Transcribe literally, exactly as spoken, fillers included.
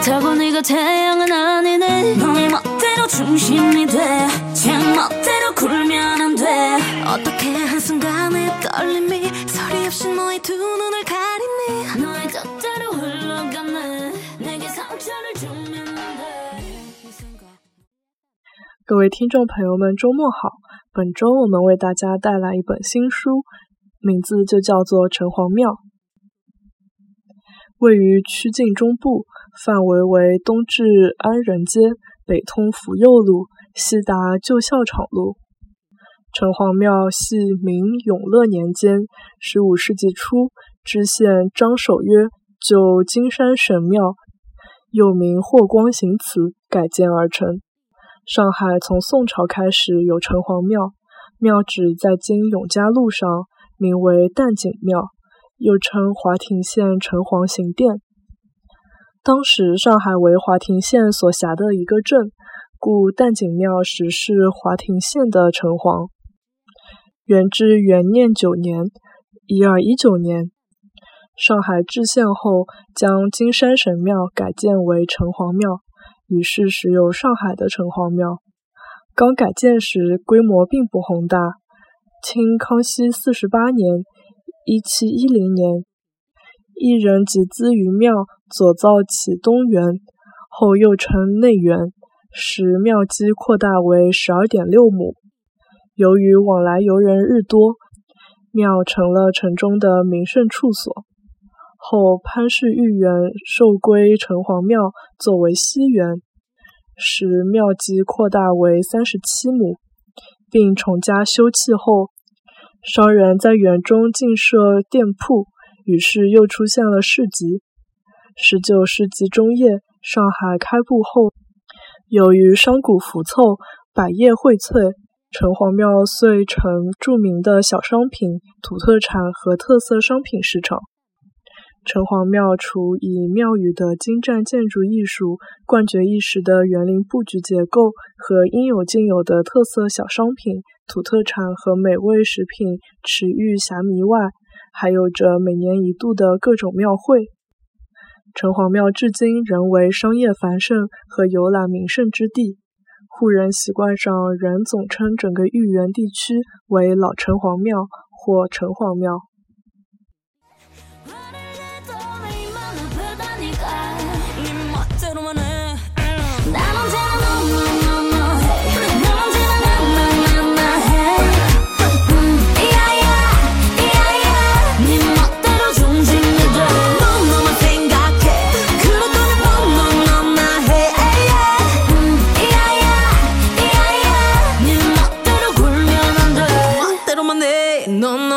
타고네가 태양은 아니네 너의 멋대로 중심이 돼 제 멋대로 굴면 안 돼 어떻게 한순간의 떨림이 소리 없이 너의 두 눈을 가리니 너의 뜻대로 흘러가네 내게 상처를 주면 안 돼 各位听众朋友们，周末好！本周我们为大家带来一本新书，名字就叫做《城隍庙》。位于曲靖中部，范围为东至安仁街，北通福佑路，西达旧校场路。城隍庙系明永乐年间十五世纪初知县张守约就金山神庙，又名霍光行祠改建而成。上海从宋朝开始有城隍庙，庙址在今永嘉路上，名为淡景庙，又称华亭县城隍行殿。当时上海为华亭县所辖的一个镇，故淡景庙实是华亭县的城隍。元至元念九年一二一九年，上海制县后将金山神庙改建为城隍庙，于是时有上海的城隍庙。刚改建时规模并不宏大，清康熙四十八年一七一零年，一人集资于庙，左造其东园，后又称内园，使庙基扩大为 十二点六亩。由于往来游人日多，庙成了城中的名胜处所。后潘氏御园授归城隍庙作为西园，使庙基扩大为三十七亩，并重加修葺后，商人在园中进设店铺，于是又出现了市集。十九世纪中叶，上海开埠后，由于商贾浮凑，百业荟萃，城隍庙遂成著名的小商品、土特产和特色商品市场。城隍庙除以庙宇的精湛建筑艺术、冠绝一时的园林布局结构和应有尽有的特色小商品、土特产和美味食品驰誉遐靡外，还有着每年一度的各种庙会。城隍庙至今仍为商业繁盛和游览名胜之地，户人习惯上仍总称整个豫园地区为老城隍庙或城隍庙。